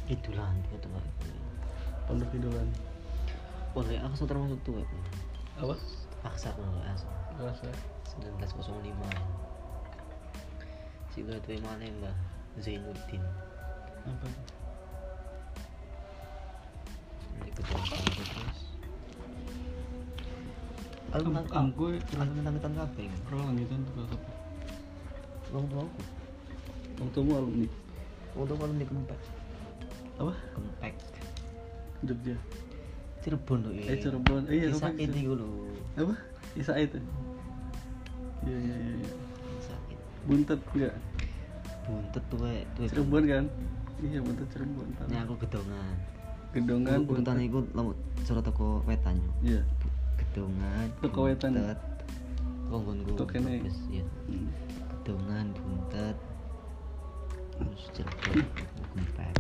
Idolan itu Pak. Pondok idolan. Pondok Aksa termasuk tua. Apa? Aksa Pondok Aksa. Rasa. 1905. Si tua mana Mbah Zainuddin. Apa? Ini ketua terus. Aku langitan kabeh. Pro langitan tuh apa? Wong tuaku. Wong tuamu alumni. Wong tuaku alumni Kempek. Apa? Kempek. Jogja. Cirebon tuh. Cirebon. Iya, Isa Kempek. itu lho. Apa? Isa itu. Iya. Isa itu. Buntet enggak? Buntet tuh Cirebon kan? Iya, buntet Cirebon. Ini aku gedongan. Gedongan buntetan iku lamun cara toko wetan yo. Iya. Gedongan. Toko wetan. Konggonku. Toko kene. Iya. Gedongan, buntet. Terus Cirebon, Kempek.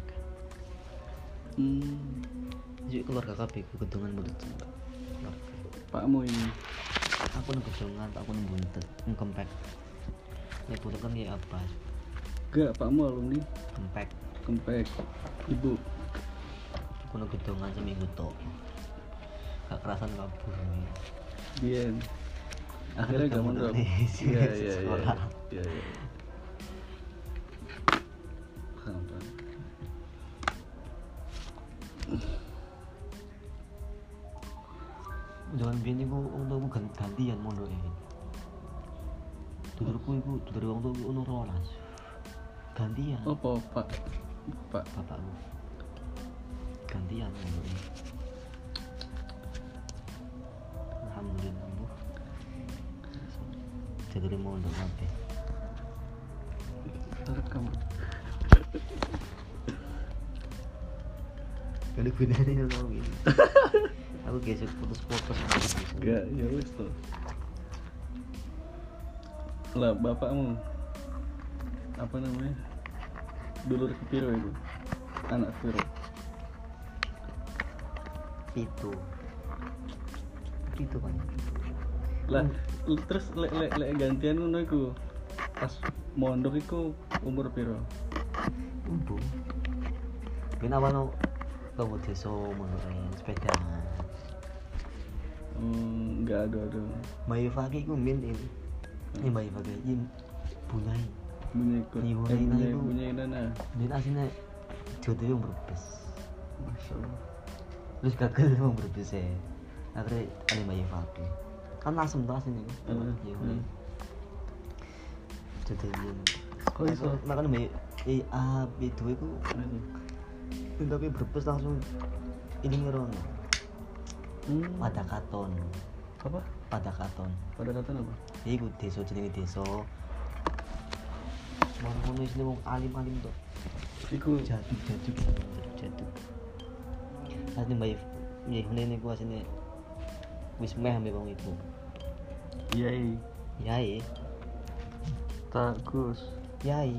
Jadi keluarga kabeh ku gedongan buntet. Pakmu ini. Aku nang gedongan, aku nang buntet, nang Kempek. Nek buntet kan ya apa? Enggak, pakmu alumni Kempek. Ibu. Aku nang gedongan seminggu tok. Gak kerasan kabur nih. Bien. Akhirnya gak mondok. Iya. Paham. Jangan biyen iku untukku gantian mondoke. Dulurku iku dulur wong tuwa ono 12. Gantian. Apa, Pak? Bapakku. Gantian mondoke. Alhamdulillah. Jadi mondok kabeh. Terekam. Kali gunane ngono iki. Aku gesek fotos-fotos. Enggak, ya wis to. Lah bapakmu apa namanya? Dulur kepiro itu? Anak kepiro? Itu kan. Lah terus lek gantian ngono iku. Pas mondok iku umur piro? Umbu. Ben awalno tunggu desa mondoke sepeda. Enggak ada. Bayi Faki ku min ini. Ini bayi Faki ini bunyai. Bunyai nana. Din asine jodoh yang berbes. Masyaallah. Terus gagal yang berbes ya. Akhirnya ada bayi Faki. Kan asem tuh asine. Jodoh yang. Kok iso? Makanya bayi itu iku. Tapi berbes langsung ini ngerono. Pada katon. Apa? Pada katon apa? Iku desa jenenge desa. Ngono wis wong alim-alim to. Iku jaduk. Asline mbak ngene niku asline wis meh ambek wong iku. Yai. Tagus. Yai.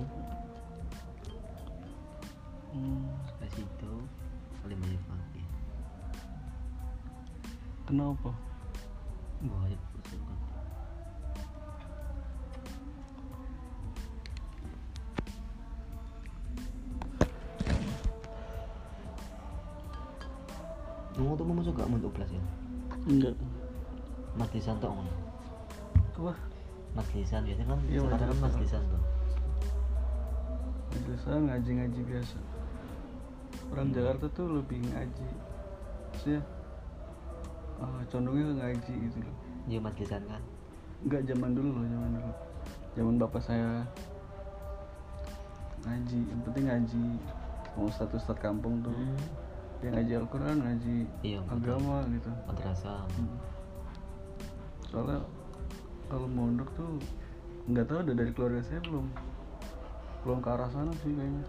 Pas itu oleh banyak fakir. Kenapa? Banyak suka. Kamu tuh masuk gak mau kelas ya? Enggak. Mas Lisan tuh ngono. Apa? Mas Lisan biasanya kan Iya, sekarang kan Mas Lisan tuh. Biasa ngaji biasa. Orang Jakarta tuh lebih ngaji. Maksudnya condongnya ke ngaji gitu loh. Iya Mas Lisan kan. Enggak zaman dulu. Zaman bapak saya ngaji, yang penting ngaji. Mau status kampung tuh. Dia ngaji Al-Quran, ngaji agama betul. Gitu. Madrasah. Soalnya kalau mondok tuh nggak tahu udah dari keluarga saya belum ke arah sana sih kayaknya.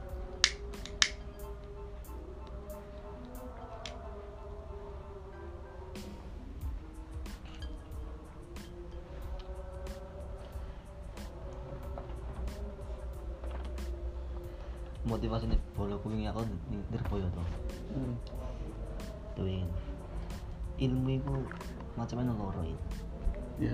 Motivasi nih bola kuing aku Nirboyo tuh. Tuh ilmu itu macam-macam loro ini. Iya.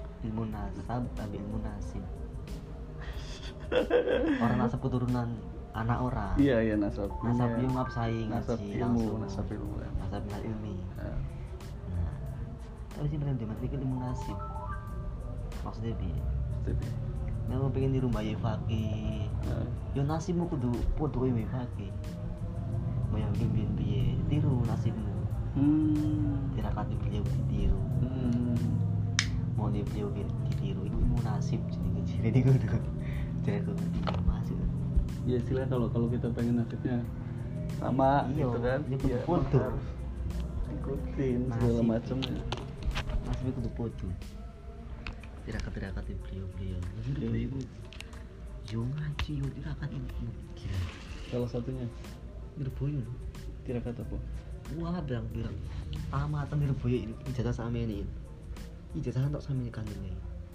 Ilmu nasab, tapi ilmu nasib. Orang nasab keturunan anak orang. Iya nasab. Nasab Iya. ilmu absai Nasab ngaji ilmu, langsung. nasab ilmu. Nasab minal ilmi. Nah, Nah, tapi sih pengen demat iki ilmu nasib. Maksudnya piye? tapi Nek aku pengen niru Mbak Fakih. nah, Yo nasibmu kudu padha kaya Mbak Fakih. Mbak Fakih piye? Tiru nasibmu. Tirakati beliau ditiru. Mau dia beliau ditiru itu ilmu nasib jadi kudu. Jadi kudu masuk. ya istilah kalau kita pengen nasibnya sama Iya, gitu kan, dia kudu ya foto. harus ikutin segala Nasib. macamnya. Nasib kudu padha. Tirakat-tirakat beliau. Iya. Beliau itu yo ngaji yo tirakat itu. Gila. Salah satunya Nirboyo lho. tirakat apa? Wah, bilang tamatan Nirboyo ini ijazah sama ini. Ijazah entuk sama ini kan ini.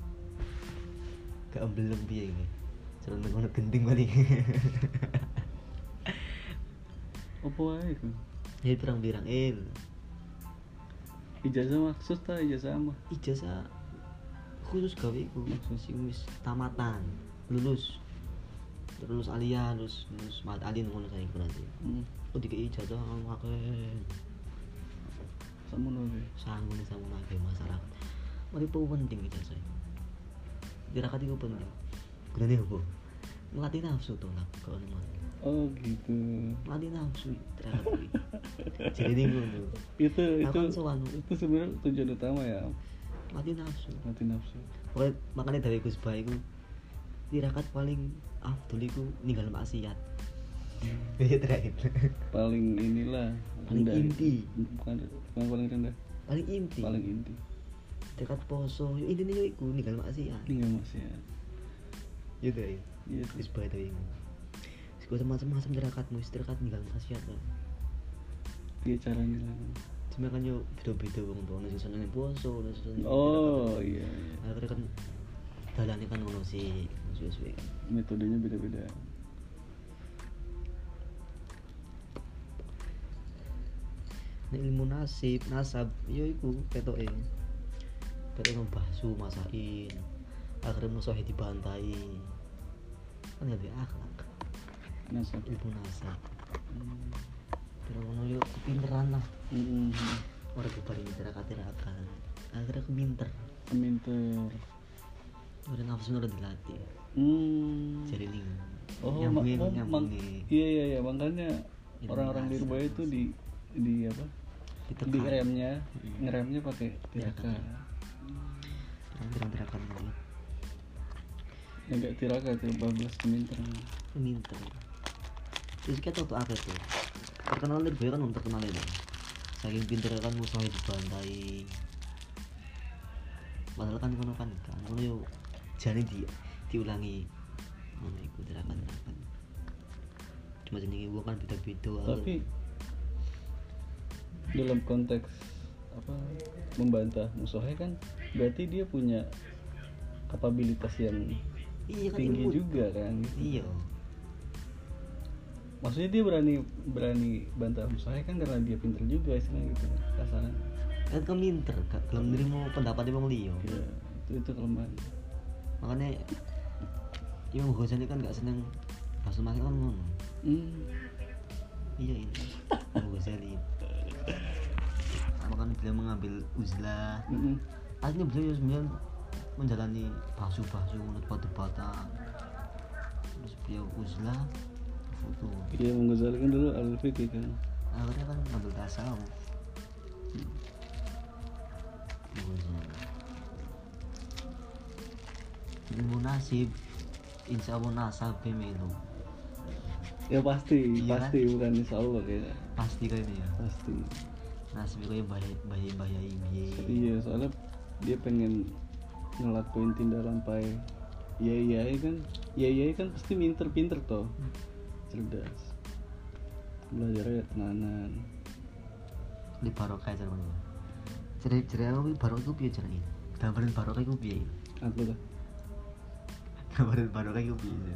Gak belum piye iki. Jalan ngono gending kali. Apa wae iku? Ya pirang-pirang Ijazah maksus ta ijazah apa? ijazah khusus gawe iku sing wis tamatan, lulus alia, lulus mat alin ngono saiki berarti. Kok dikei ijazah akeh. Samono wae. Sanggune sama akeh masyarakat. Mari penting ijazah. Tirakat iku penting. Gunane opo? Ngelatih nafsu to lah kok ngono. Oh gitu. Ngelatih nafsu tirakat kuwi. Jadi ngono. Itu Akan sowan. itu sebenarnya tujuan utama ya, Ngelatih nafsu. mati nafsu. Pokoknya makanya dari Gus Bah iku tirakat paling afdol iku ninggal maksiat. Iya terakhir. Paling inilah Paling rendah. inti. Bukan paling rendah, Paling inti. paling inti. Tirakat poso, yo intine yo iku ninggal maksiat. Tinggal masih ya. Yo terakhir. Iya. Gus Bah itu iku. Segala macam-macam tirakatmu, tirakat ninggal maksiat. Dia caranya lah. Cuma kan yo beda-beda wong tuwa sing seneng poso, sing seneng Oh tirakat. iya. Akhirnya kan dalane kan ngono sih, suwe-suwe kan. Metodenya beda-beda. Nek ilmu nasab yo iku ketoke. Ketoke membahsu masain. Akhirnya musuhe dibantai. Kan ya akhlak. Nasab. Ilmu nasab. Pero ngono yo kepinteran lah. Ora keparing tirakat-tirakat. Akhirnya kepinter. Minter. Ora nafsu ora dilatih. Jadi ling. Oh, nyambungin. iya makanya Ilmu orang-orang di nasab. Surabaya itu di apa? Ditekan. Di ngeremnya pakai tirakat. Tirakat ini. Enggak tirakat ya, bablas minter. Minter. Terus kita tuh apa tuh? Terkenal dari kan terkenal itu. Saking pinter kan musuhnya dibantai. Padahal kan kono kan yo jane diulangi. Ngono iku tirakat. Cuma jenenge wong kan beda-beda. Tapi dalam konteks apa membantah musuhnya kan berarti dia punya kapabilitas yang iya kan tinggi ilmu. juga kan. Iya. Maksudnya dia berani bantah musuhnya kan karena dia pinter juga istilahnya gitu kasarnya. Kan kan minter, gak gelem nrimo pendapatnya wong liya. Ya, itu kelemahan. Makanya Imam Ghazali kan gak seneng bahasa makin kan ngono. Iya ini Imam Ghazali. Makanya beliau mengambil uzlah. Aslinya beliau sebenarnya menjalani bahsu-bahsu menurut debat-debatan. Terus beliau uzlah foto. Iya, Ghazali kan dulu al-fiqh kan. Akhirnya kan ngambil tasawuf. Ilmu nasib, insya Allah nasab melu. Ya pasti, Iya pasti bukan insya Allah kayaknya. Pasti kayaknya ya. Pasti. Nasib kayak bahaya biye. Iya, soalnya dia pengen ngelakuin tindak lampai. Iya kan pasti pinter toh. Cerdas. Belajarnya tenanan. Di barokah aja mana? Cerai aku barokah itu piye caranya? Gambarin barokah itu piye? Apa tuh? Gambarin barokah itu piye?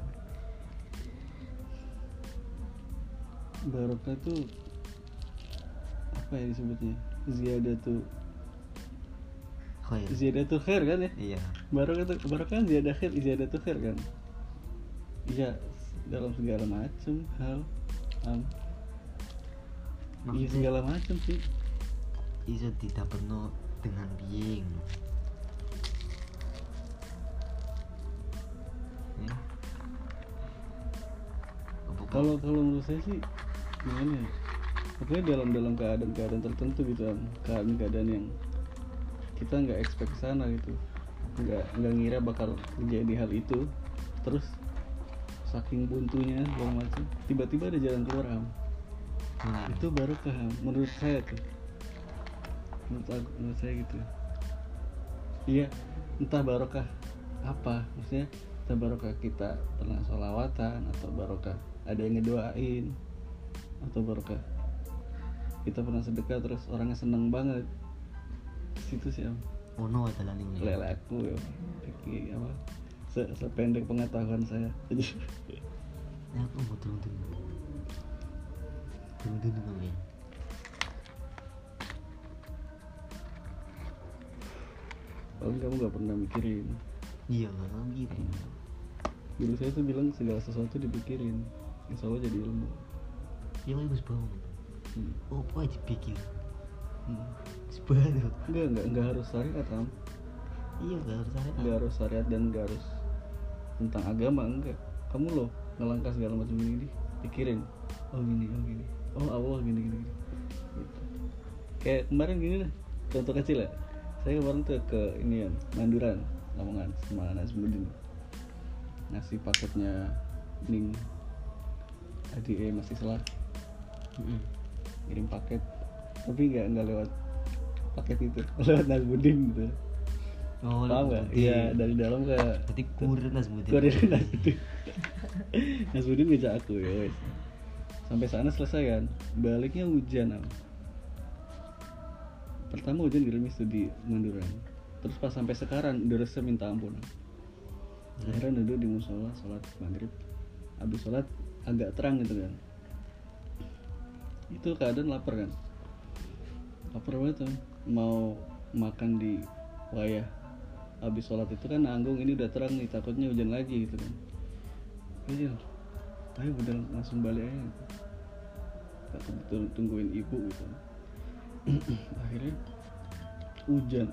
Barokah tuh apa ya disebutnya? Ziyadatul khair kan ya? Iya. Barokah kan ziyadatul khair kan? Iya, dalam segala macam hal. Iya Maksudnya segala macam sih. iso tidak penuh dengan biing. Ya. Kalau menurut saya sih gimana ya? Pokoknya dalam keadaan tertentu gitu kan, keadaan yang kita nggak expect kesana gitu, nggak ngira bakal terjadi hal itu, terus saking buntunya segala macam, tiba-tiba ada jalan keluar Am. Itu baru paham menurut saya tuh, menurut saya gitu. Iya, entah barokah apa, maksudnya entah barokah kita pernah sholawatan, atau barokah ada yang ngedoain, atau barokah kita pernah sedekah terus orangnya seneng banget. Situ sih Am. Ono adalah ning Lele aku ya, apa sependek pengetahuan saya. Jadi ya aku mau turun kami. paling kamu nggak pernah mikirin. Iya nggak gitu. Dulu saya tuh bilang segala sesuatu dipikirin, insya Allah jadi ilmu. Ya bagus banget. Oh apa aja pikir. Hmm. Sebenarnya Enggak harus syariat Am. iya nggak harus ada. Nggak harus syariat dan nggak harus tentang agama, enggak. Kamu loh ngelangkah segala macam ini pikirin, oh gini, oh Allah gini. Gitu. Kayak kemarin gini deh, contoh kecil ya. Saya kemarin tuh ke ini ya, Manduran, Lamongan sama Nazmuddin, ngasih paketnya Ning ADE masih salah, kirim paket, tapi nggak lewat paket itu, lewat Nazmuddin gitu. Oh, paham nggak? Iya, dari dalam kayak berarti kurir Nazmuddin. Nazmuddin ngejak aku ya wes. Sampai sana selesai kan, baliknya hujan Am. Pertama hujan gerimis tuh di Manduran, terus pas sampai sekarang deresnya minta ampun. Akhirnya duduk di musola sholat maghrib, habis sholat agak terang gitu kan, itu keadaan lapar banget tuh, mau makan di wayah. Habis sholat itu kan nanggung, ini udah terang nih, takutnya hujan lagi gitu kan. Ayo udah langsung balik aja gitu. Tak tungguin ibu gitu. Akhirnya hujan.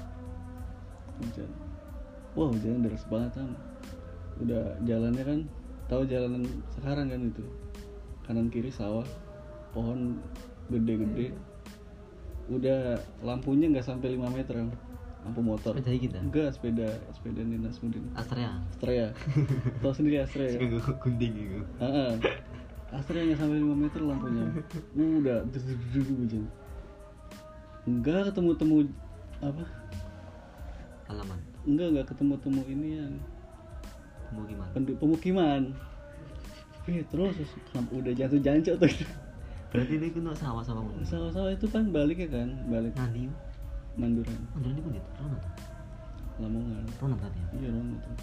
Wah hujannya deras banget Am. Udah jalannya kan, tahu jalanan sekarang kan itu, kanan kiri sawah, pohon gede-gede. Udah lampunya nggak sampai 5 meter Am. Lampu motor. Sepeda kita? Enggak, sepeda Nazmuddin. Astrea. Tahu sendiri Astrea ya? Gunting gitu. Astrea nggak sampai 5 meter lampunya. Udah hujan. Enggak ketemu apa? Halaman. Enggak ketemu ini yang pemukiman. Terus udah jatuh jancok tuh. Berarti ini kena sawah-sawah. Sawah-sawah itu kan baliknya kan, balik nanti Manduran. Manduran itu gitu, Rono. Lamongan. Rono berarti ya? Iya Rono tuh.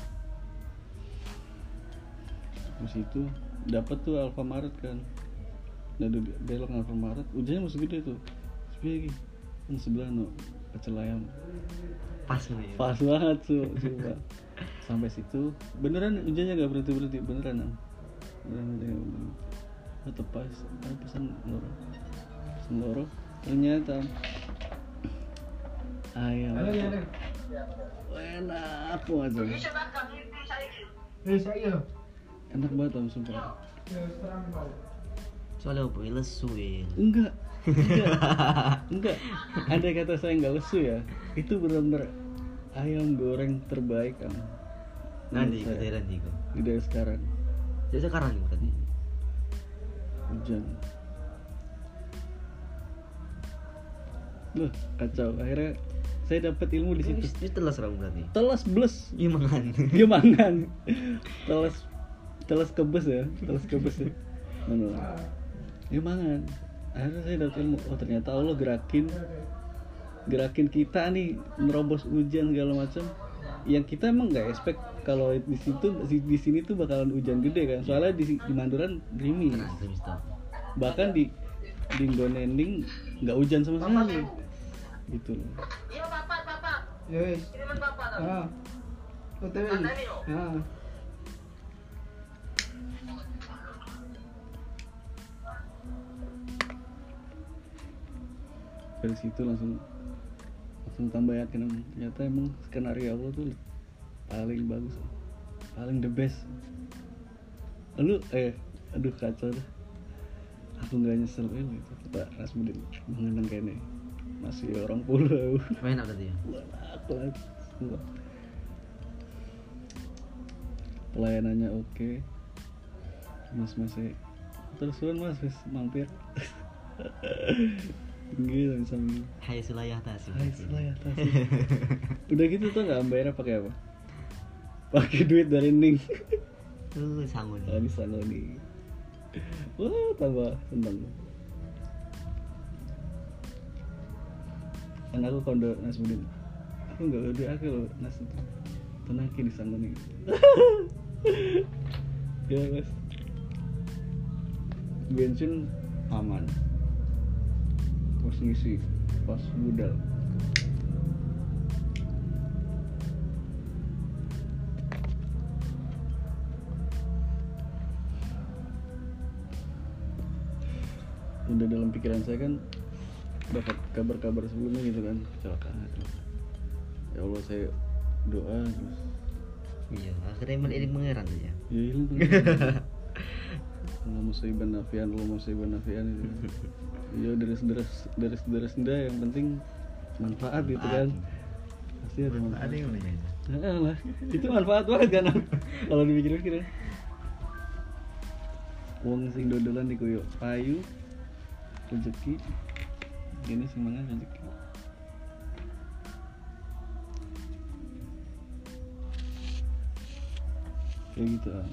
Terus itu dapat tuh Alfamaret kan. Udah belok Alfamaret, hujannya masih gede tuh. Sepi lagi. Kan sebelah no, pecel ayam. Pas nih. Pas banget tuh, coba. Sampai situ beneran hujannya gak berhenti beneran Am. Beneran. Tetep pas, pesan loro. Ternyata ayam. Enak banget. Enak banget Am, sumpah. Soalnya apa lesu ya? Enggak. Andai kata saya nggak lesu ya, itu benar-benar ayam goreng terbaik Am. Nanti ke daerah nih kok. Di daerah sekarang. Jadi sekarang nih tadi. Hujan. Loh, kacau. Akhirnya saya dapat ilmu di situ. Itu telas ramu berarti. Telas bles. Iya mangan. Telas kebes ya. Mana? Iya mangan. Akhirnya saya dapat ilmu. Oh ternyata Allah gerakin kita nih nerobos hujan segala macam. Yang kita emang nggak expect kalau di sini tuh bakalan hujan gede kan. Soalnya di Manduran gerimis. Bahkan di Nggonending nggak hujan sama sekali. Gitu loh. Iya bapak. Yes. Kiriman bapak tadi. OTW. Tanda ini loh. dari situ langsung tambah yakin ternyata emang skenario Allah tuh paling bagus, paling the best. Aduh kacau dah. Aku nggak nyesel gitu Pak Rasmudin mengenang kene masih orang pulau. Enak tadi ya. Enak semua. Pelayanannya oke. Mas terusan mas wis mampir. Gila misalnya. Hai Sulayah Tasik. Udah gitu tuh nggak bayarnya pakai apa? Pakai duit dari Ning. Sangoni. Ini Sangoni. Wah tambah seneng. Kan aku kondo Nasmudin. Aku nggak udah aku loh Nas itu. Tenaki di Sangoni. Ya mas. Bensin aman. Terus ngisi pas budal. Udah dalam pikiran saya kan dapat kabar-kabar sebelumnya gitu kan kecelakaan. Ya Allah saya doa terus. Iya, akhirnya ini mengeran ya. Ya hilang tuh. Allah musibah nafian itu. Ya deres yang penting manfaat gitu kan. Pasti ada manfaat. Ada yang lain. Nah, lah. Itu manfaat banget kan. Kalau dipikir-pikir. Wong sing dodolan dikoyo payu rezeki. Gini sing mangan rezeki. Kayak gitu ah.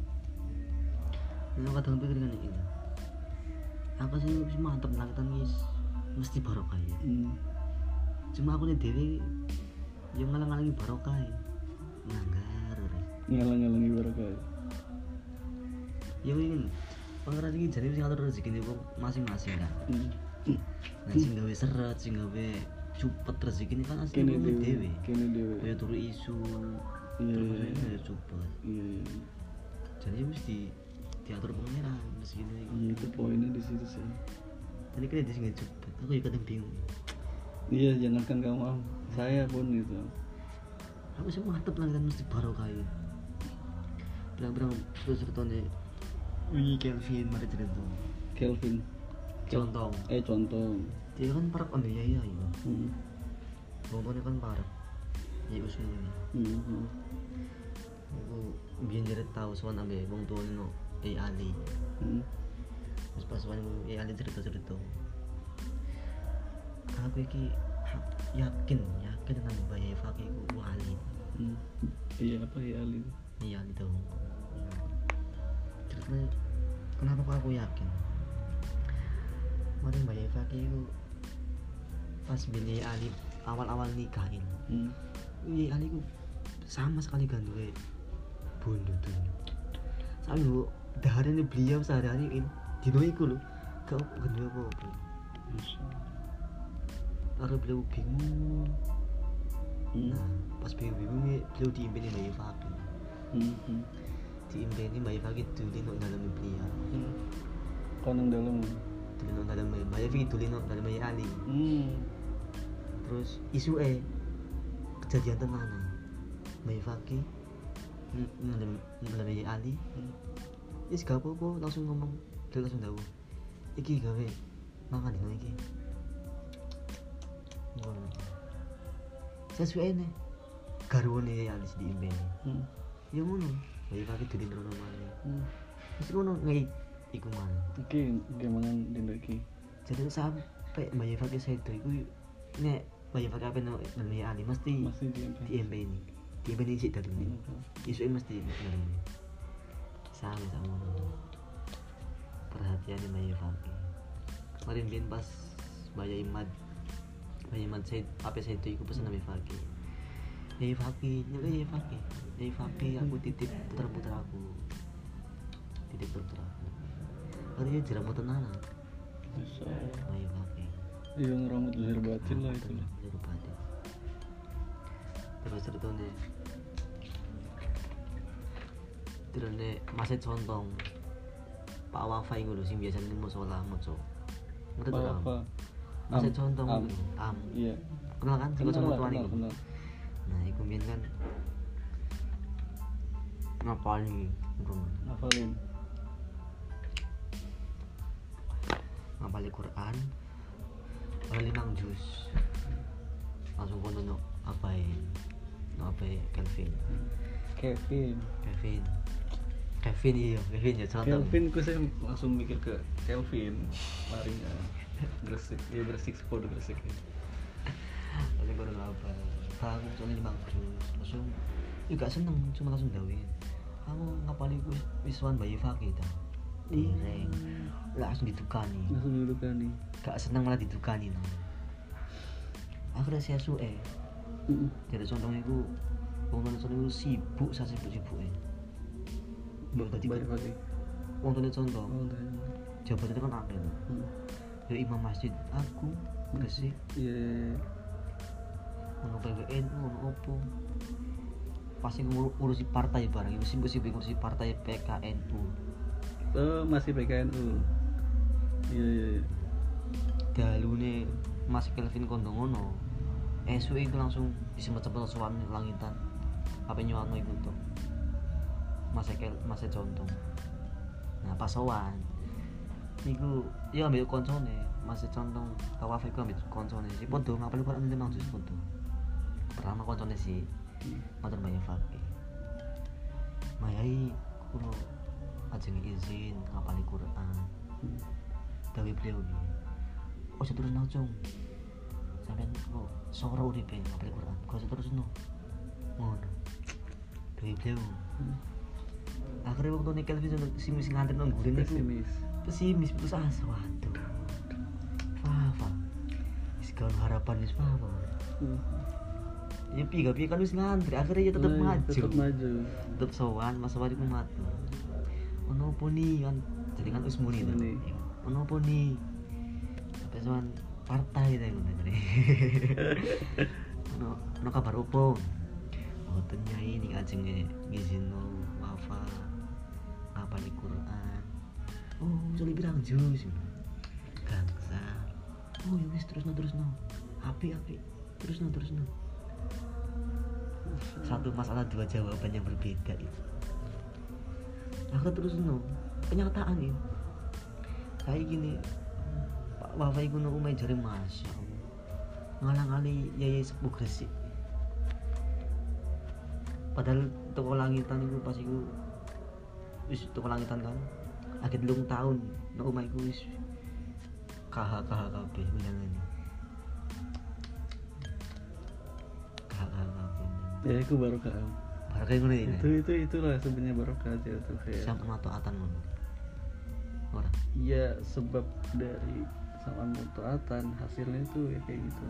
Lu kadang pikir kan gitu. Apa sih mantep langkatan guys, mesti barokah ya. Cuma aku nih dewi yang ngalang-ngalangi barokah ya. Ngalang-ngalangi barokah ya. Ya ini pangeran iki jane sing ngatur rezekine wong masing-masing kan. Nah sing gawe seret, sing gawe cupet rezekine kan asline wong dhewe. Kene dhewe. Kaya turu isu. Iya, cupet. Iya. Jadi mesti diatur pangeran rezekine iki. Iya itu poinnya di situ sih. Tadi kan dia sing cupet. Aku juga kadang bingung. Iya, jangankan kamu, saya pun gitu. Aku sih mantep lah kan mesti barokah ya. Bilang-bilang terus ceritanya Wih Kelvin, mari cerita Kelvin Contong dia kan parah ambil ya ya Bongkongnya kan parah ya usmu ini aku biar jadi tahu soal ambil bong tua ini no Ali terus pas soal Ali cerita aku iki yakin dengan bayar fakir ku Ali iya apa ya Ali iya Ali tahu terus kenapa kok aku yakin kemarin Mbak Eva itu pas beli Ali awal-awal nikahin ini Ali itu sama sekali gandule bondo tuh sampai bu daharannya beliau sehari-hari dino iku lho gak gandule apa-apa karena beliau bingung nah pas bingung beliau diimpeni Mbak Eva diimpeni Mbak Eva itu di dalam beliau koneng dalam tulino dalam Mbak Eva tulino dalam Ali terus isu kejadian tenan Mbak Eva dalam Ali is gak apa-apa langsung ngomong dia langsung tahu iki gawe mangan dino iki sesuai nih garwane Ali diimpeni ya ngono Mbak Eva itu dino namanya terus ngono ngai iku mana iki gemangan dino iki jadi sampai Mbak Eva ke sedo iku nek Mbak Eva kabeh nang Ali mesti diimpeni sik dadi isu mesti ngene sama perhatian Mbak Eva kemarin bin pas Mbak Imad saya apa saya itu pesan Mbak Eva aku titip putra aku hari ini jeramu tenanan ayo pakai iya ngeramut lahir batin lah itu lahir batin terus ceritanya masih contong Pak Wafa yang dulu sih biasanya mau sholat moco Pak Wafa Masih contoh Am. am. Iya. Kenal kan sing Kenal lah, tuan iku. kenal. Nah, iku mbiyen kan ngapalin iku. Hafalin. Ngapalin Quran. Ora 5 juz. Langsung kono no apae. No apae Kelvin. Kevin Kevin ya contoh. Kelvin ku saya langsung mikir ke Kelvin larinya Gresik ya Gresik sepuluh Gresik ya. Langsung kono apa? Tahu soalnya 5 juz. Langsung juga seneng cuma langsung dawin. Kamu ngapalin ku wisuan bayi fakih ta. Direng. Langsung ditukani. Gak seneng malah ditukani no. Akhirnya saya suwe. Jadi contohnya iku wong tuane sibuk sibuk-sibuke. Mbok dadi Pagi. wong tuane contoh. Oh, tanya. Jabatan itu kan akeh. Ya imam masjid aku Gresik. Iya. Ono PWN ono opo. Pasti ngurusi partai bareng itu sibuk-sibuk ngurusi partai PKNU. Oh, masih PKNU. Iya. Dalune Mas Kelvin kondo ngono. Esuk itu langsung disempat-sempat sowan langitan. Apa nyuwano iku to. Mas contoh. Nah, pas sowan niku ya ambil koncone, Mas contoh tawaf iku ambil koncone. Si padha ngapal Quran memang jus padha. Pertama koncone si matur banyak fakih. Mayai kulo ajeng izin ngapali Quran. Dawe beliau iki. Ojo terus nocong. Sampeyan kok sora uripe ngapali Quran. Kok terus no. Ngono. Dawe beliau. Akhirnya waktu nih Kelvin sing nganter nang gurine iku pesimis putus asa. Waduh. Apa? Wis kan harapan wis apa. Ya piye kan wis ngantri, akhirnya ya tetep maju. Tetep sowan, Mas Sowan iku matu. Ono opo nih kan jadi kan wis muni to. Ono opo nih? Sampai sowan partai ta ngono jare. Ono kabar opo? Oh, nyai ning ajenge ngizino wafa ngapali Quran. Oh, joli pirang juz. Gangsa. Oh, ya wis terusno. Api. Terusno. Satu masalah dua jawaban yang berbeda itu. Aku terusno. Kenyataan ini. Kayak gini. Pak Wafa iku nang omahe jare Masya Allah. Ngalang-ali yaya sepuh Gresik. Padahal toko langitan itu pas iku wis toko langitan kan akhir 3 tahun nang omah iku wis KH kabeh undangan. KH kabeh. Ya itu barokah. Barokah ngono ya. Itulah sebenarnya barokah aja tuh kayak. Sama taatan ngono. Ora. Iya, sebab dari sama taatan hasilnya itu ya kayak gitu.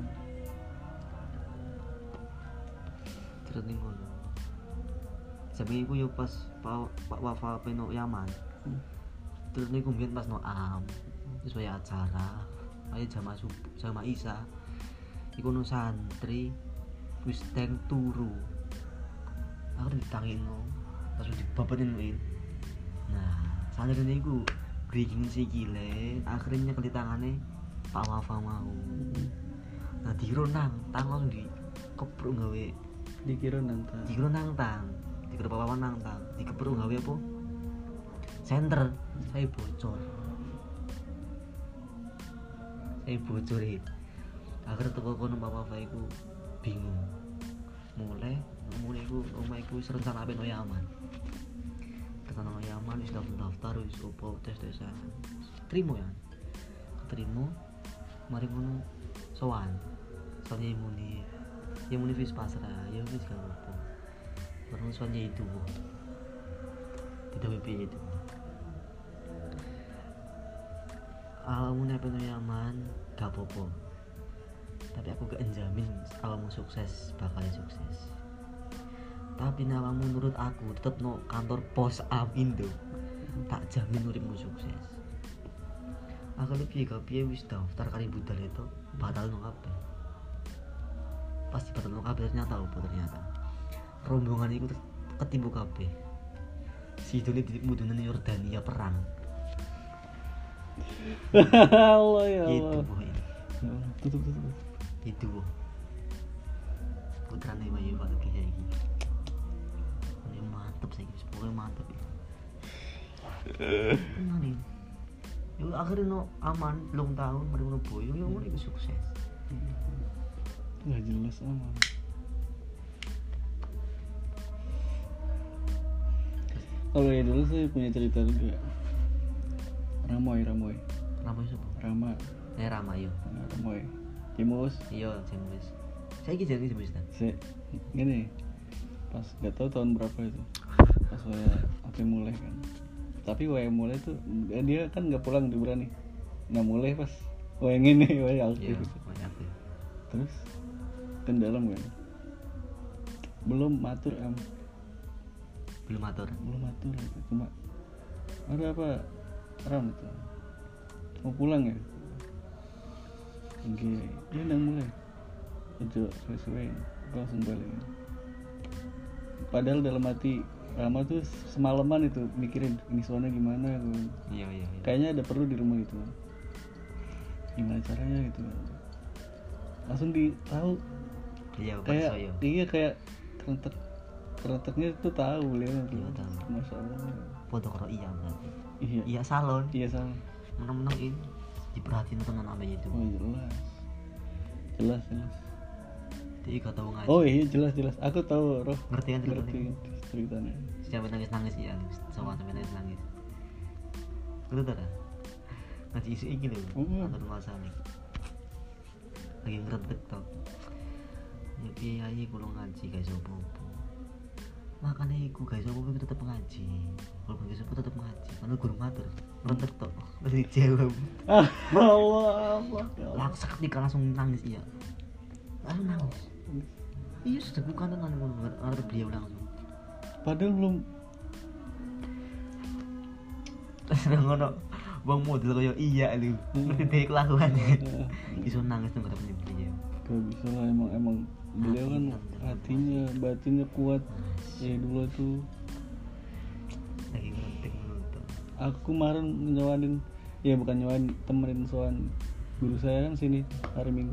Terus ning ngono. Sabi iku yo pas Pak Wafa peno Yaman. Terus niku mbiyen pas no am. Wis wae acara. Ayo jamaah Isa. Iku no santri wis teng turu. Aku ditangino. Terus dibabatin win. Nah, santri niku bikin sikile, akhirnya ke tangane Pak Wafa mau. Nah, dironang, langsung dikepruk gawe Dikira nang tang. Dikira Pak Wafa nang tang. Dikepruk gawe apa? Center. Saya bocor itu. Akhirnya teko kono Pak Wafa iku bingung. Mulai iku omah iku wis rencana ape no Yaman. Tekan no Yaman wis daftar wis opo tes-tesan. Terima ya. Keterima. Mari ngono sowan. Soalnya muni wis pasrah, ya wis gak apa. Baru soalnya itu. Tidak piye itu. Awakmu nek pengen Yaman gak apa-apa. Tapi aku gak njamin awakmu sukses, bakal sukses. Tapi awakmu menurut aku tetep no kantor pos Amindo. Tak jamin uripmu sukses. Aku lebih gak piye wis daftar kali budal itu batal no kabeh. Pasti batal no kabeh ternyata rombongan itu ketimbu kabeh. Si Doni mudune Yordania perang. Allah ya Allah. Gitu boy. Ya Allah, tutup. Itu putrane Bayu Pak Kiai iki. Ini mantep saiki, pokoknya mantep ya. Tenang nih. Yo akhirnya no aman, belum tahun mari ngono boyo yo ngono iku sukses. Nggak jelas aman. Kalau ya dulu saya punya cerita juga. Ramoy. Rama sapa? Rama. Rama yo. Ramoy. Cimus. Iya, James. Saiki jadi James ta. Gini. Pas nggak tahu tahun berapa itu. Pas saya apa mulai kan. Tapi wae mulai tuh dia kan nggak pulang di berani. Nah mulai pas wae ngene wae aktif. Iya, banyak ya. Terus kan dalam kan. Belum matur Belum atur. Cuma ada apa Ram itu mau pulang ya oke dia udah mulai itu sesuai langsung balik padahal dalam hati Rama tuh semalaman itu mikirin ini soalnya gimana Iya. kayaknya ada perlu di rumah itu gimana caranya gitu langsung tahu Iya, kayak Soyo. iya kayak kerenteknya tuh tahu beliau tuh. Iya, tahu. Masya Allah. Foto karo iya berarti. Iya. Iya salon. Iya sama. Menang-menang ini diperhatiin tenan namanya itu. Oh jelas. Dia ikut tahu ngaji. Oh iya jelas. Aku tahu roh. Ngerti kan ceritanya. Sampai nangis ya, sama sampai nangis. Ngerti tak? Ngaji isu ini loh. Antar masalah. Lagi ngerentek tau. Ya kiai kulo ngaji guys opo-opo. Makanya iku guys opo-opo tetep ngaji. Kalau guys opo tetep ngaji. Karena guru matur ngerentek tok. Dari jawab. Allah. Langsung ketika langsung nangis iya. Langsung nangis. Iya sudah bukan dengan ngarep beliau langsung. Padahal belum. Terus ngono wong model kaya iya lu. Ngerti dhewe kelakuannya. Iso nangis tuh ketemu beliau. Gak bisa lah emang beliau kan hatinya batinnya kuat ya dulu tuh lagi ngerentek menonton. Aku kemarin bukan temenin soan guru saya kan sini hari Minggu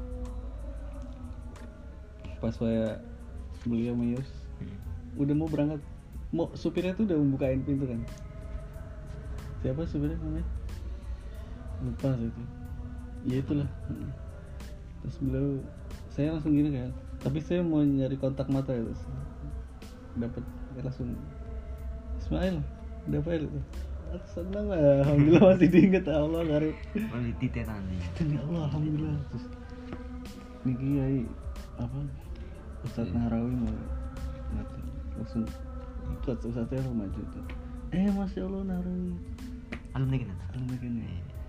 pas saya beliau meyus udah mau berangkat supirnya tuh udah membukain pintu kan siapa supirnya namanya lupa itu ya itulah. Terus beliau saya langsung gini kan tapi saya mau nyari kontak mata ya terus dapat langsung Ismail dapat itu aku senang lah alhamdulillah masih diingat Allah garip di nanti ya Allah alhamdulillah. Terus ini kiai apa Ustadz Nahrawi mau mati langsung Ustadznya lo maju tuh Masya Allah Nahrawi alumni kena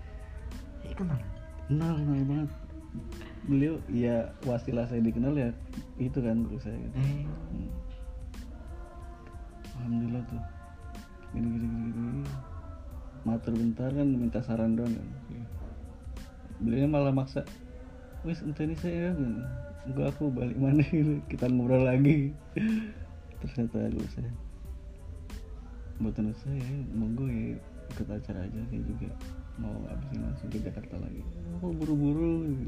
kenal banget beliau ya wasilah saya dikenal ya itu kan guru saya gitu. Alhamdulillah tuh gini matur bentar kan minta saran doang kan beliau malah maksa wis entah ini saya enggak aku balik mana gitu kita ngobrol lagi ternyata guru saya buatan saya monggo ya ikut acara aja saya juga mau abisin langsung ke Jakarta lagi buru-buru gitu.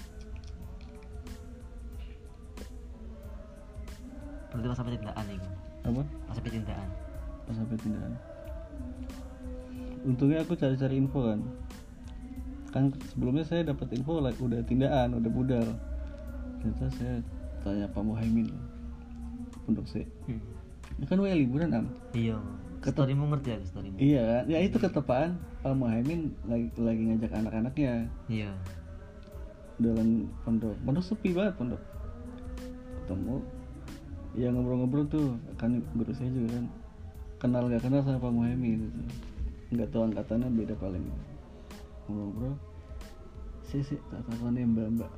Berarti pas sampai tindakan nih Apa? Pas sampai tindakan Untungnya aku cari-cari info kan sebelumnya saya dapat info udah tindakan, udah budal. Ternyata saya tanya Pak Muhaimin Pondok C. Kan wae liburan Iya storymu ngerti ya storymu? Iya kan, ya itu ketepaan Pak Muhaimin lagi ngajak anak-anaknya. Iya Dalam pondok sepi banget pondok. Ketemu ya ngobrol-ngobrol tuh kan guru saya juga kan kenal gak kenal sama Pak Muhaimin gitu. Nggak tahu angkatannya beda paling ngobrol sih tak tahuannya mbak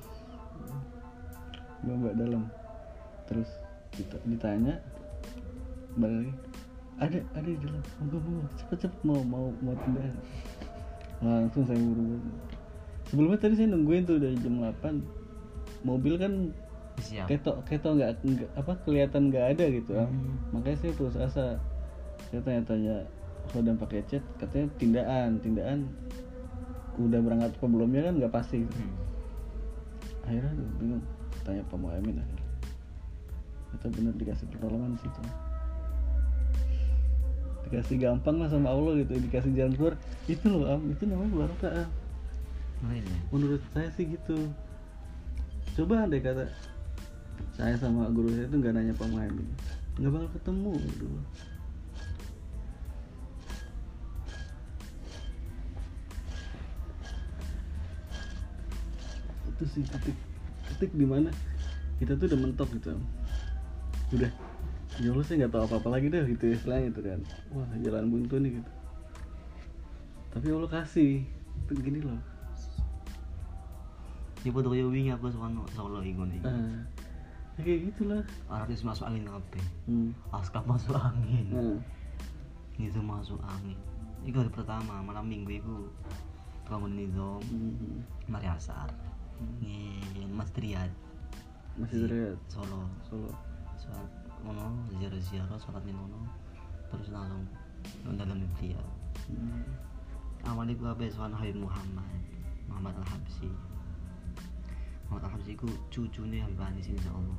dalam terus ditanya balik lagi ada di dalam mau cepet mau pindah langsung saya buru-buru. Sebelumnya tadi saya nungguin tuh dari jam 8 mobil kan ketok nggak apa kelihatan nggak ada gitu makanya saya putus asa. Saya tanya-tanya kalau udah pakai chat katanya tindakan udah berangkat apa belumnya kan nggak pasti. Akhirnya gue bingung, tanya Pak Muhammad akhirnya. Itu bener dikasih pertolongan sih tuh. Dikasih gampang lah sama Allah gitu, dikasih jalan keluar. Itu loh itu namanya barokah. Menurut saya sih gitu. Coba andai kata saya sama guru saya itu nggak nanya Pak Muhammad, nggak bakal ketemu gitu. Itu sih titik dimana kita tuh udah mentok gitu, udah ya Allah saya nggak tahu apa-apa lagi deh gitu istilahnya itu kan, wah jalan buntu nih gitu. Tapi Allah kasih itu gini loh. Ini foto kayak wingi aku Solo ikon iki. Ya kayak gitulah. Artis masuk angin kabeh. Askap masuk angin. Itu masuk angin. Iku hari pertama malam minggu iku bangun nizam. Mari asar. Mas Triad. Solo. Soal ngono ziarah salat ning ngono. Terus langsung dalam dia. Awalnya gua habis soal Habib Muhammad Al-Habsyi. Muhammad Al-Habsyi ku cucune Habib Anis insyaallah.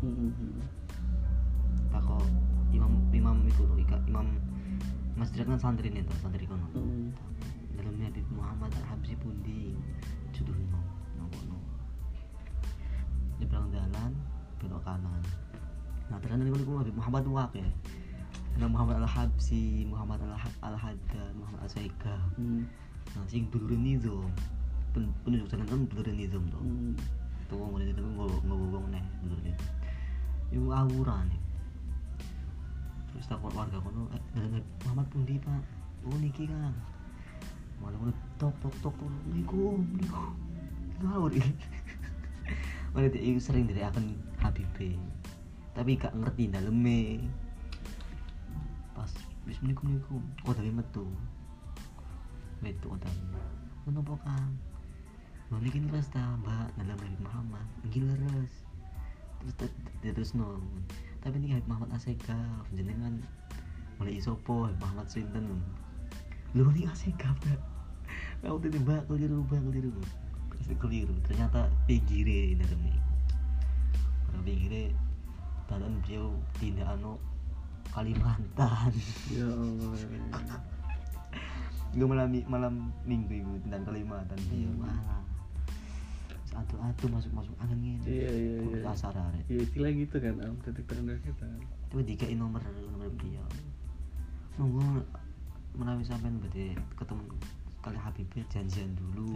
Tak kok imam itu loh, imam masjid kan santri nih tuh, santri kono. Dalamnya Habib Muhammad Al-Habsyi pundi juduhno ngono. Di belakang jalan belok kanan. Nah ternyata niku Habib Muhammad wae. Nah Muhammad Al-Habsyi, Muhammad Al-Haddad, Muhammad Al-Saiga. Nah sing dulure nizam. Penunjuk jalan kan dulure nizam to. Tuh ngomong itu ngomong nih dulure. Iku awuran. Terus takut warga kono, Muhammad pundi Pak? Oh niki Kang. Malah ngono tok niku. Ngawur iki. Malah dia sering diriakan Habib. Tapi gak ngerti daleme. Pas wis niku kok dari metu otak menapa Kang niki leres ta Mbak dalam Habib Muhammad niki leres terus no tapi niki Habib Muhammad Asega jenengan mulai isopo Habib Muhammad sinten lho niki Asega aku tadi Mbak keliru ternyata pinggire daleme pada pinggire dalam beliau tindak Kalimantan. Ya Allah. Gue malam minggu itu dan Kalimantan dia malah atu masuk angin. Iya. Asar arek. Iya istilah gitu kan titik terendah kita. Coba dikai nomor dia. Nunggu menawi sampean berarti ketemu kali Habib janjian dulu.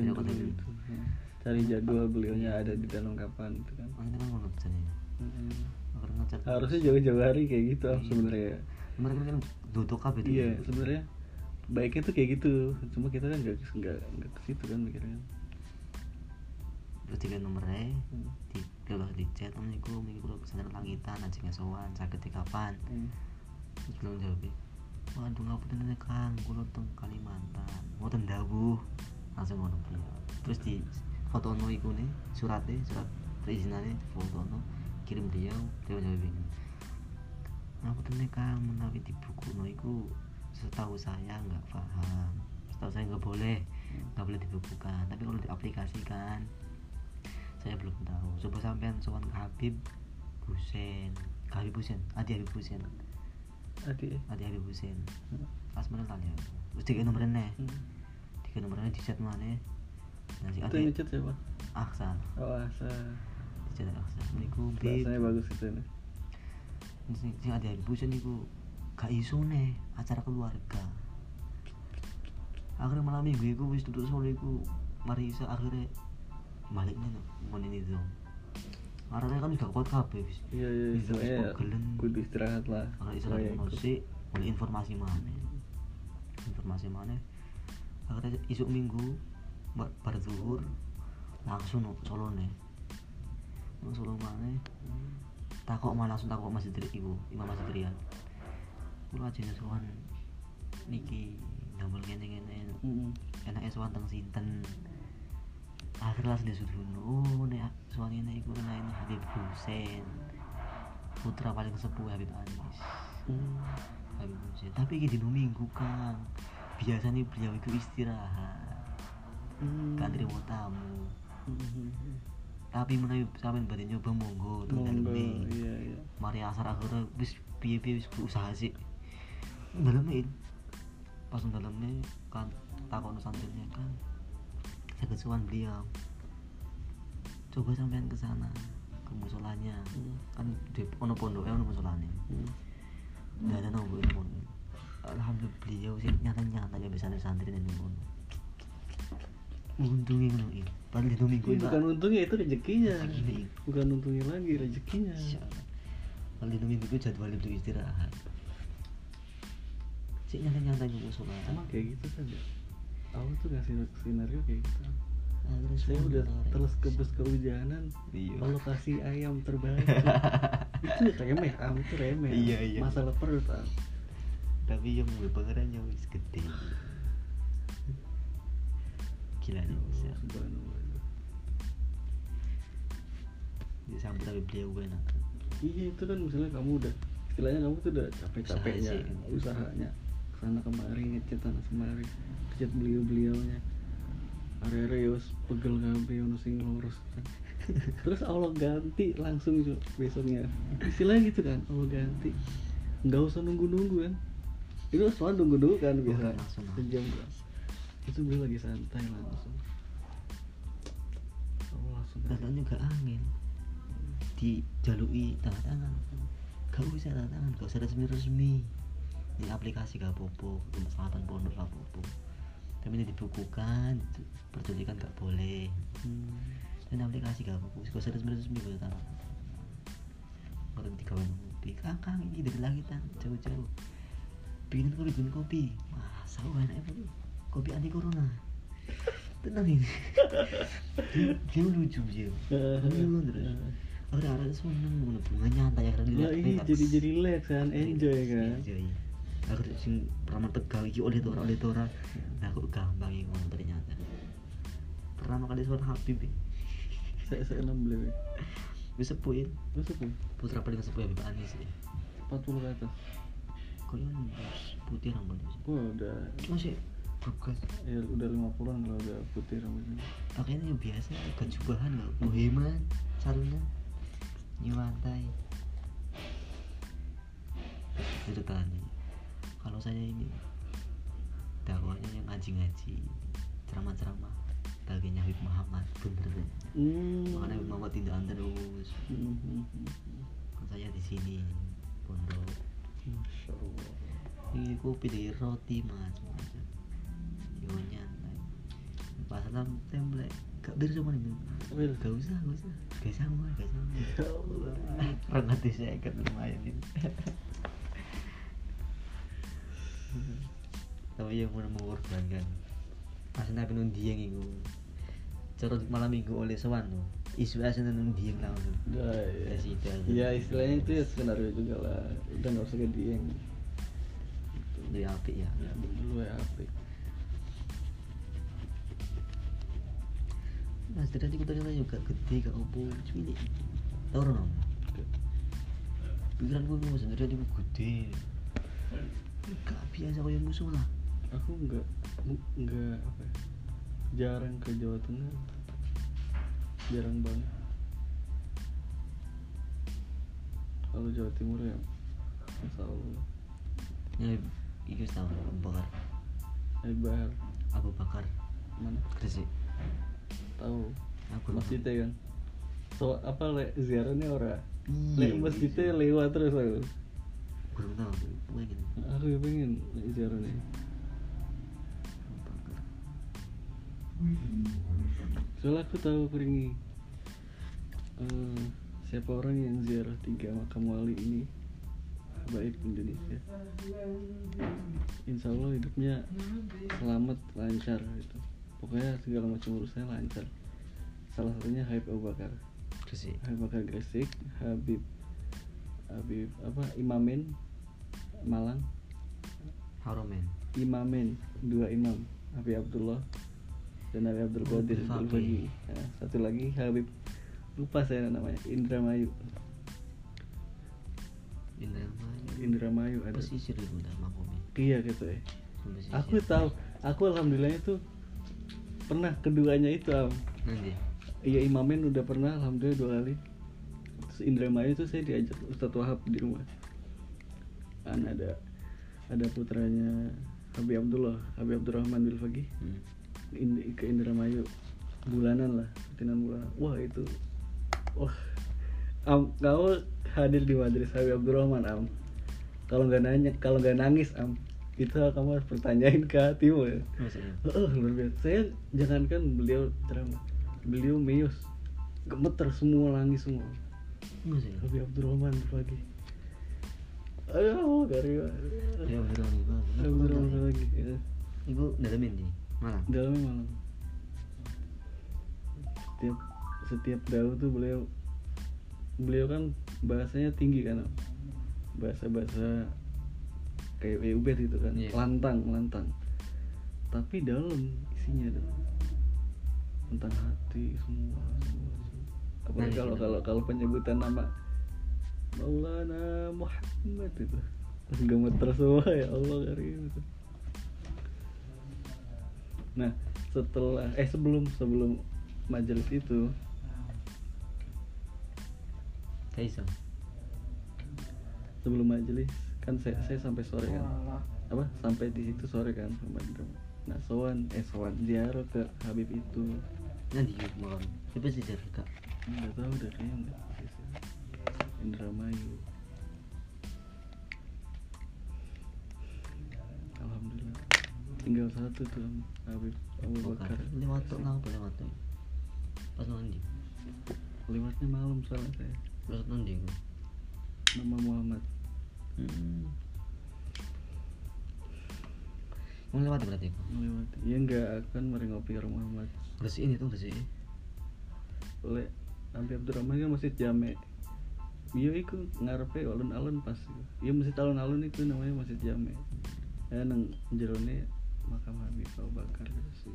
Cari jadwal beliaunya ada di dalam kapan itu kan. Ini kan ngono jadinya. Harusnya jauh-jauh hari kayak gitu sebenarnya. Mereka kan duduk kabeh itu. Iya, sebenarnya baiknya tuh kayak gitu. Cuma kita kan enggak ke situ kan mikirnya. Terus tiga nomornya di chat niku minggu kesana langitan ajeng sowan saged kapan. Terus belum jawab. Waduh ngapunten Kang, kula teng Kalimantan. Mboten dawuh. Langsung ngono beliau. Terus di fotono iku ne, surat perizinane fotono kirim beliau jawab ini. Ngapunten Kang, menawi di buku iku setahu saya nggak paham, setahu saya nggak boleh dibukukan. Tapi kalau diaplikasikan, saya belum tahu. Coba sampean sowan ke Habib Husein, Adi Habib Husein. Pas mana tadi? Terus tiga nomornya, di chat mana? Nanti Adi. Itu chat siapa? Aksan. Oh Aksan. Chat Aksan. Niku bahasanya bagus itu nih. Sing ada busen niku gak iso nih acara keluarga. Akhirnya malam minggu iku wis tutup sore iku Marisa akhirnya baliknya ngene itu. Arane kan udah kuat kabeh wis. Iya. Soalnya kudu istirahat lah. Kalau istirahat sih mulai informasi mana. Akhirnya isuk minggu bar zuhur langsung Solo nih. Solo mana? Takok Masjid iku, Imam Masjid Riyad. Kula ajeng sowan niki ndamel ngene-ngene. Enake sowan teng sinten. Akhirnya langsung disuduhno. Nek sowan ngene iku ana Habib Husein. Putra paling sepuh Habib Anis. Habib Husein. Tapi iki dino Minggu, Kang. Biasanya beliau itu istirahat. gak terima tamu. Tapi menawi sampean badhe nyoba monggo teng daleme. Iya. Mari asar akhirnya wis piye-piye wis berusaha sih. Daleme pas daleme kan takon santrinya kan. Saya kesuwan beliau. Coba sampean ke sana ke musolanya. Kan di ono pondoke ono musolane. Dan ana ngono. Alhamdulillah beliau sih nyata-nyata ya bisa santri nang ngono. Untungnya ngono iki. Padahal itu minggu bukan untungnya, itu rezekinya. Bukan untungnya lagi, rezekinya. Padahal itu minggu itu jadwal untuk istirahat. Sik nyata-nyata ke musola. Sama kayak gitu saja. Aku tuh ngasih skenario kayak gitu. Terus Saya udah terus kebes kehujanan. Kalau kasih ayam terbaik. Itu remeh, itu remeh. Iya. Masalah perut. Tapi yang gue pengerannya wis gede. Gila nih bisa. Ya sampai tapi beliau gue enak. Iya itu kan misalnya kamu udah istilahnya kamu tuh udah capek-capeknya usahanya kesana kemari ngechat sana kemari ngechat beliaunya are-are ya wis pegel kabeh ono sing lurus kan. Terus Allah ganti langsung besoknya istilahnya gitu kan, Allah ganti nggak usah nunggu-nunggu kan. Itu soal nunggu-nunggu kan biasa sejam itu beliau lagi santai langsung Allah langsung katanya juga angin dijalui tanda tangan gak usah tanda tangan, gak usah resmi ini aplikasi gak apa-apa untuk selatan pondok gak apa-apa tapi ini dibukukan pertunjukan gak boleh dan aplikasi gak apa-apa gak usah resmi gak usah tanda orang tiga kopi kakang ini dari langitan jauh-jauh bikin kopi masa enak kopi anti corona tenang ini dia lucu dia terus orang-orang semua nang bunga nyantai karena dia jadi relax kan, enjoy kan. Aku sing pernah Tegal iki oleh tora nah kok gampang iki ngono ternyata pertama kali suara Habib saya 6 beli wis sepuh putra paling sepuh Habib Anis 40 ke atas kok yang putih rambutnya udah masih bagus ya udah 50-an kalau udah putih rambutnya pakainya yang biasa gak jubahan loh boheman sarungnya nyewantai ceritanya kalau saya ini dakwahnya yang ngaji-ngaji ceramah-ceramah bagiannya Habib Muhammad bener makanya Habib Muhammad tidak terus saya di sini pondok Masya Allah ini kopi dari roti macam-macam yo nyantai pasal template gak beres sama nih gak usah gak sama rengat saya kan lumayan ini tapi yang mau mengorbankan pas nabi nundiang itu cara malam minggu oleh sowan tuh isu asal nundiang langsung ya istilahnya itu ya skenario juga lah udah gak usah ke dieng lu ya apik ya lu ya apik mas tadi kita juga gede gak opo cilik tau orang pikiran gue mau sendiri dia gede gak biasa kayak musuh lah aku enggak apa ya, jarang ke Jawa Tengah jarang banget kalau Jawa Timur ya Masya Allah ya itu tahu Abu Bakar mana Gresik tahu aku masjidnya kan so apa ziarahnya orang masjidnya lewat terus aku belum tahu pengen aku ya pengen ziarahnya soalnya aku tahu keringi siapa orang yang ziarah 3 makam wali ini baik Indonesia insya Allah hidupnya selamat lancar gitu. Pokoknya segala macam urusannya lancar. Salah satunya Habib Abu Bakar Gresik, Habib Bakar Gresik, Habib apa Imamen Malang, Haromen Imamen 2 imam Habib Abdullah dan Habib Abdul Qadir Al-Bagi. Nah, satu lagi Habib lupa saya namanya Indramayu ada pesisir itu udah makomnya iya gitu ya. Aku tahu, aku alhamdulillah itu pernah keduanya itu Nanti. iya imamen udah pernah alhamdulillah 2 kali. Terus Indramayu itu saya diajak Ustadz Wahab di rumah kan ada putranya Habib Abdurrahman Bil Faqih ke Indramayu bulanan lah rutinan bulanan. Wah itu kamu hadir di majelis Habib Abdurrahman kalau nggak nangis itu kamu harus pertanyain ke hatimu ya. Luar biasa. Saya jangankan beliau ceramah, beliau meyos gemeter semua, nangis semua. Habib Abdurrahman pagi. Ayo dari Ya Abdurrahman lagi. Ya. Ibu dalamin nih Malang. Dalamnya Malang. Setiap daun tuh beliau kan bahasanya tinggi kan, bahasa kayak ubed gitu kan, yeah. lantang tapi dalam isinya tentang hati semua. Apalagi kalau penyebutan nama Maulana Muhammad itu gemeter semua ya Allah karim itu. Nah setelah sebelum majelis itu sebelum majelis kan saya sampai sore kan sampai di situ sore kan sama nah sowan ziarah ke Habib itu nanti malam siapa sih ziarah kak nggak tahu deh kayaknya nggak Indramayu. Alhamdulillah tinggal satu tuh Habib Abu Bakar lewat pas nanti lewatnya malam soalnya saya lewat nanti nama Muhammad. Melewati berarti melewati ya nggak akan merengopi orang Muhammad bersih ini tuh bersih oleh Habib Abdurrahman kan masjid Jame iya itu ngarepe alun-alun pas iya masjid alun-alun itu namanya masjid Jame ya nang jerone makam Habib Abu Bakar sih.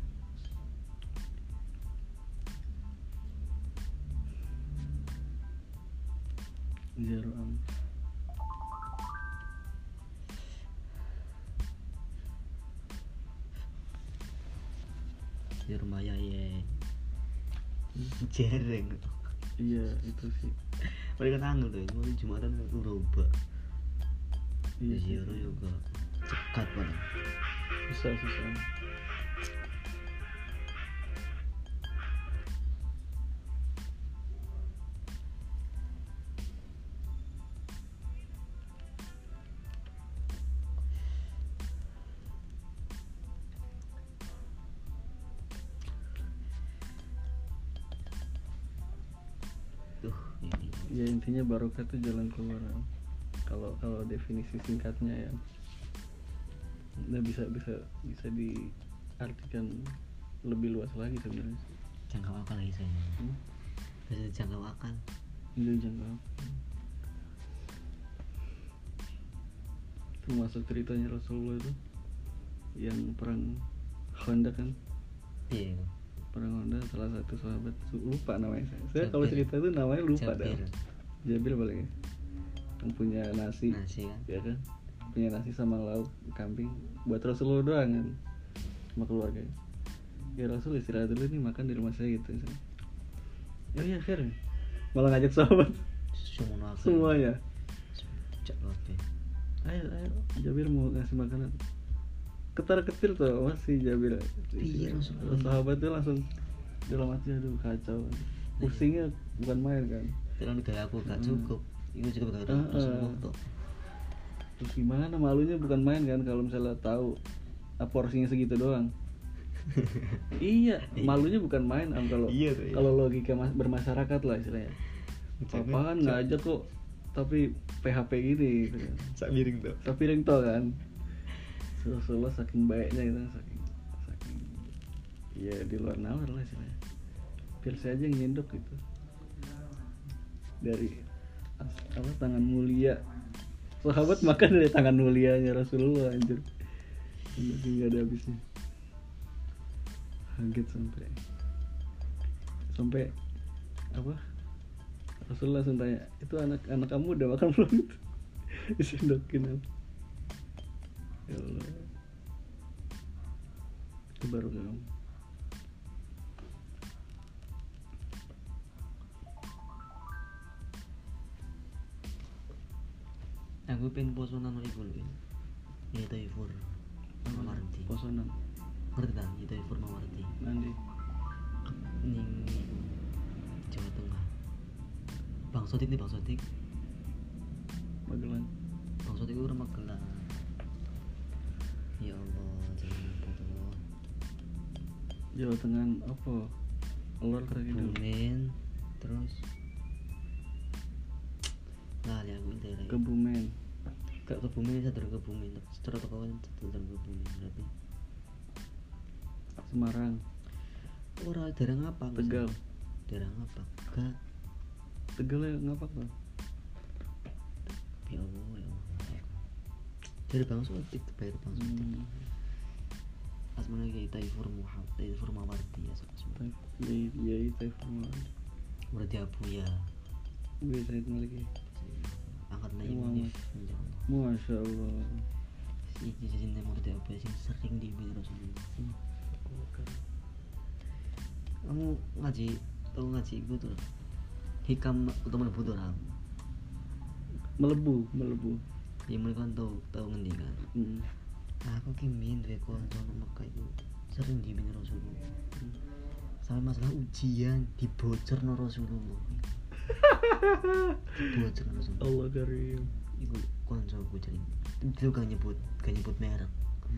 Jarum di rumah ya jereng iya itu sih mereka tanggal tuh mau Jumatan itu robak iya ziarah juga cekat banget susah ya intinya barokah itu jalan keluar kalau definisi singkatnya ya nah bisa diartikan lebih luas lagi sebenarnya jangkau akal lagi saya bisa jangkau akal termasuk ceritanya Rasulullah itu yang perang Khandaq kan iya perang Khandaq salah satu sahabat lupa namanya saya kalau cerita itu namanya lupa dah Jabir paling yang punya nasi kan ya kan punya nasi sama lauk kambing buat Rasulullah doang kan sama keluarganya ya Rasul istirahat dulu nih makan di rumah saya gitu ya akhirnya malah ngajak sahabat semuanya ayo Jabir mau ngasih makanan ketar-ketir tuh masih Jabir sahabat tuh langsung dalam hati aduh kacau pusingnya bukan main kan terus gaya aku gak cukup itu juga gak cukup terus gimana malunya bukan main kan kalau misalnya tahu porsinya segitu doang iya malunya bukan main kalau logika bermasyarakat lah istilahnya apaan ngajak kok tapi PHP gini gitu kan sak piring tuh kan Rasulullah saking baiknya itu saking ya di luar nalar lah istilahnya biar saya aja yang nyendok gitu dari tangan mulia sahabat makan dari tangan mulianya Rasulullah anjir nggak ada habisnya kaget sampai apa Rasulullah langsung tanya itu anak kamu udah makan belum itu disendokin ya Allah itu baru kamu Aku pengen posonan iku lho. Ya Taifur Mawardi. Posonan Ngerti ta? Ya Taifur Mawardi. nanti Ning Jawa Tengah. Bang Sodik nih Bang Sodik. Magelang. Bang Sodik itu Magelang. Ya Allah, jangan bodoh. Jawa Tengah apa? Lor kayak gitu. Kebumen, terus nah ya aku daerah Kebumen. gak Kebumen satu Kebumen secara tokoan satu Kebumen berarti Semarang. ora daerah ngapa Tegal. daerah ngapa gak Tegal ya ngapak tuh. ya Allah ya Allah dari Bang Sodik bayar Bang Sodik asmana kayak Taifur Muhammad Taifur Mawardi ya sebenarnya Ya Taifur Mawardi. berarti Abu ya Gue saya lagi. angkat naik Munif ya Allah Masya Allah. si jajan berarti Abu ya sing sering dibilang Rasulullah. Kamu ngaji tahu ngaji gue tuh hikam utama melebu tuh orang Melebu. ya mereka kan tahu ngendi kan aku kimin dari konco Mekah itu sering dibimbing Rasulullah sampai masalah ujian dibocor no Rasulullah dibocor no Rasulullah Allah karim. itu konco gue jadi itu gak nyebut merek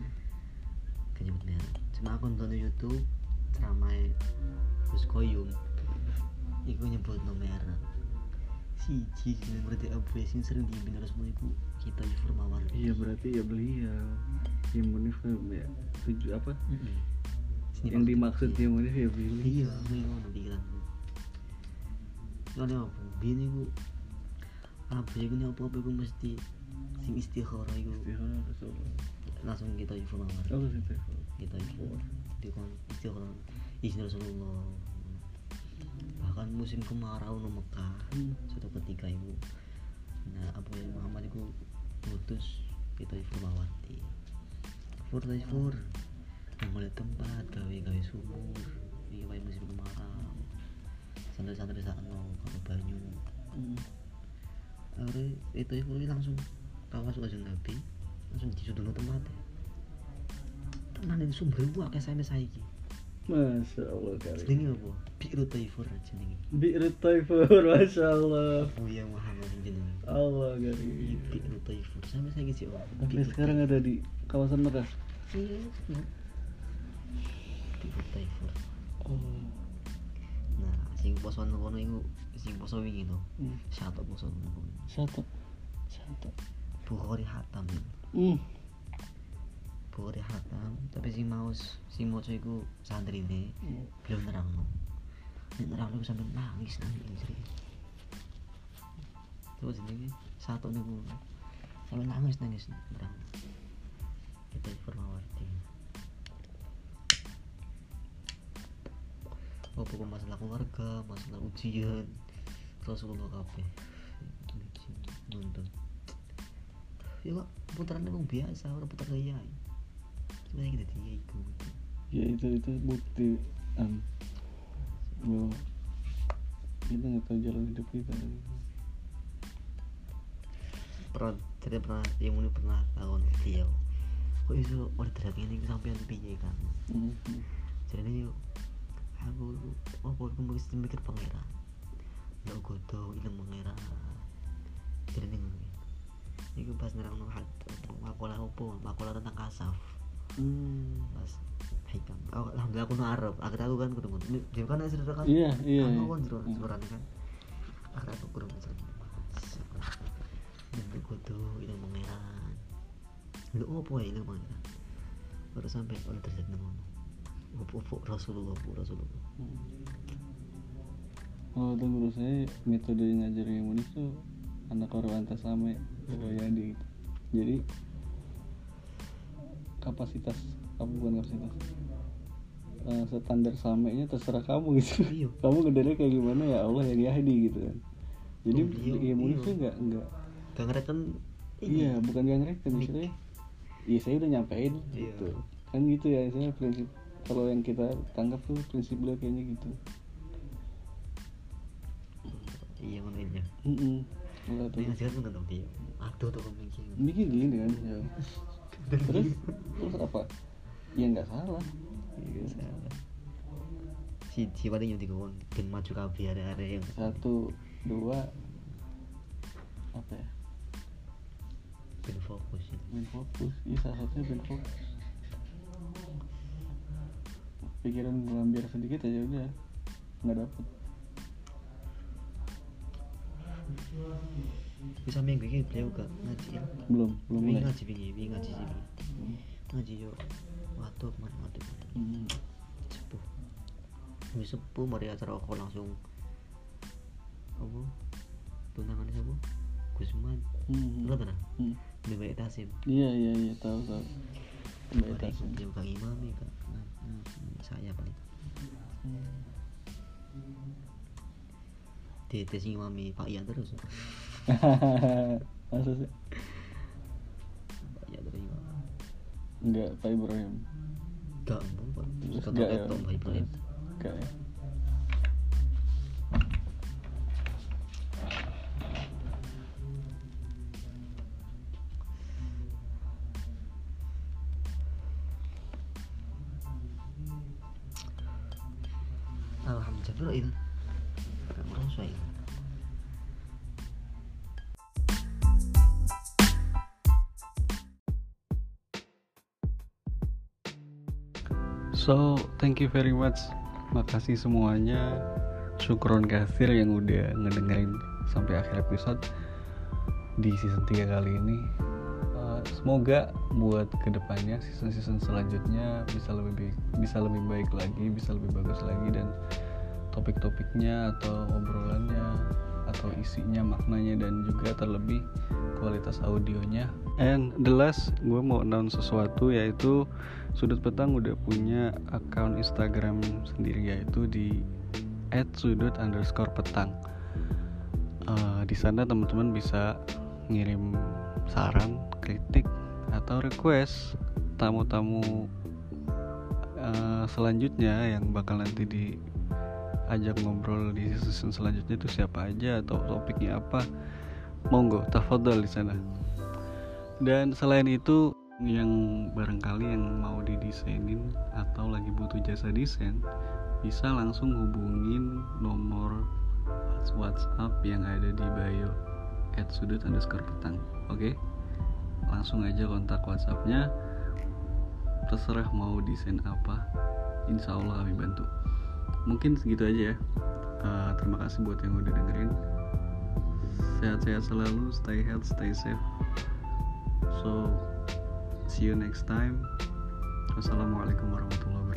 cuma aku nonton di YouTube ceramah Gus Koyum itu nyebut no merek siji berarti Abu Yasin sering dibimbing Rasulullah itu kita Taifur Mawardi. Iya berarti ya beliau yang Munif ya tujuh apa yang dimaksud yang Munif ya beliau. Iya beliau pikiran soalnya apa bini ku apa ya gini apa ku mesti sing istikharah iku Istikharah Rasulullah. langsung kita Taifur Mawardi. Oh gitu. Kita Taifur di kon istikharah izin Rasulullah. Bahkan musim kemarau no Mekah suatu ketika ibu nah Abu Muhammad itu ngutus kita Taifur Mawardi Taifur yang mulai tempat gawe sumur ini kayak musim kemarau santri-santri sakno kalau banyu akhirnya itu Taifur langsung kawas wajah Nabi langsung disudul tempatnya teman ini sumber gua kayak saya iki Masya Allah karim. jenenge apa? Bi'ru Taifur jenenge. Bi'ru Taifur, Masya Allah. Oh ya Muhammad jenenge. Allah karim. Bi'ru Taifur. Sampai saya gitu. Tapi sekarang ada di kawasan Mekah. Iya. Bi'ru Taifur. Oh. Nah, sing poso kono iku sing poso wingi to. Satu poso kono. Satu. Bukhari Hatam. Bukhari Hatam, tapi sing maca iku santrine. Belum nerangno. Nek nerangno sampe nangis. Terus jenenge satu niku. Sampe nangis nerang. Kita Mawardi. Apa masalah keluarga, masalah ujian, Rasulullah kabeh. Nonton. Ya kok putaran emang biasa, orang putar gaya. Sebenarnya kita dia itu. Ya itu bukti bahwa kita nggak tahu jalan hidup kita. Pernah yang ini pernah tahun dia. Kok iso order ini sampean piye kan? Jadi aku mesti mikir pangeran. Ya godo ilmu pangeran. Jadi iku pas nerangno makola tentang kasaf. Pas hikam. Alhamdulillah aku Arab. Aku kan ketemu. Dia kan saudara kan. Iya. Aku kan saudara kan. Aku kurang saudara. Dan godo ilmu pangeran. Lu opo ya ilmu pangeran? Baru sampai on terjadi ngono. Opo Rasulullah. Oh, itu menurut saya metode ngajar yang unik tuh anak orang antasame Royadi. Jadi standar samenya terserah kamu gitu. Iya. Kamu ngedengarnya kayak gimana ya Allah yang Yahdi gitu kan. Jadi ilmu itu enggak ngereken. Iya, bukan gak ngereken istilahnya. Iya, saya udah nyampein gitu. Kan gitu ya, saya prinsip kalau yang kita tangkap tuh prinsip beliau kayaknya gitu. Iya ngono ya. Enggak tahu. Dia jelas enggak tahu dia. Aku tuh mikir gini kan ya. terus apa ya nggak salah si paling yang digawang ben maju kabeh arek-arek yang 1, 2 apa ya ben fokus ya. Iya salah satunya ben fokus. Pikiran ngelambiar sedikit aja udah nggak dapet. Bisa minggu ini beliau gak ngaji ya? belum mulai ngaji ngaji yo waduh sepuh mari acara aku langsung apa tunangannya siapa Gusman lo tahu Mbak Tasim iya tahu Mbak mari Tasim beliau kang imam ya kak saya paling tes imami Pak Ian terus masa sih Pak Ian terus imam enggak Pak Ibrahim gak mau bukan Enggak, ya. Pak Ibrahim enggak ya alhamdulillah itu gak merasa ya. So, thank you very much. Makasih semuanya. Syukron kasir yang udah ngedengerin sampai akhir episode di season 3 kali ini. Semoga buat kedepannya season selanjutnya bisa lebih baik lagi, bisa lebih bagus lagi, dan topik-topiknya atau obrolannya atau isinya, maknanya, dan juga terlebih kualitas audionya. And the last, gue mau announce sesuatu, yaitu Sudut Petang udah punya akun Instagram sendiri, yaitu di @sudut_petang. Di sana teman-teman bisa ngirim saran, kritik, atau request tamu-tamu selanjutnya yang bakal nanti diajak ngobrol di season selanjutnya itu siapa aja atau topiknya apa. Monggo, tafadhol di sana. Dan selain itu, yang barangkali yang mau didesainin atau lagi butuh jasa desain, bisa langsung hubungin nomor WhatsApp yang ada di bio @sudut_petang. Oke? Langsung aja kontak WhatsAppnya. Terserah mau desain apa, insya Allah kami bantu. Mungkin segitu aja ya. Terima kasih buat yang udah dengerin. Sehat-sehat selalu, stay healthy, stay safe. So, see you next time. Wassalamualaikum warahmatullahi wabarakatuh.